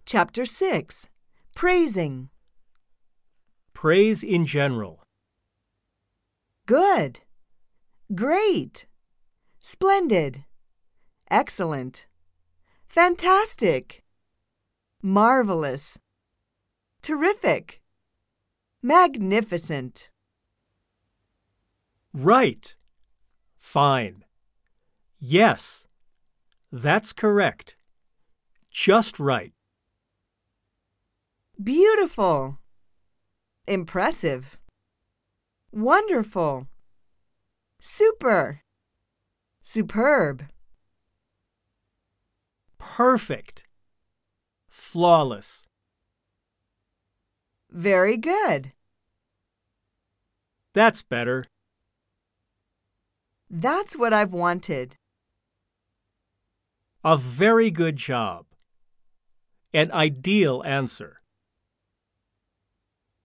Chapter 6. Praising. Praise in general. Good. Great. Splendid. Excellent. Fantastic. Marvelous. Terrific. Magnificent. Right. Fine. Yes. That's correct. Just right. Beautiful. Impressive. Wonderful. Super. Superb. Perfect. Flawless. Very good. That's better. That's what I've wanted. A very good job. An ideal answer.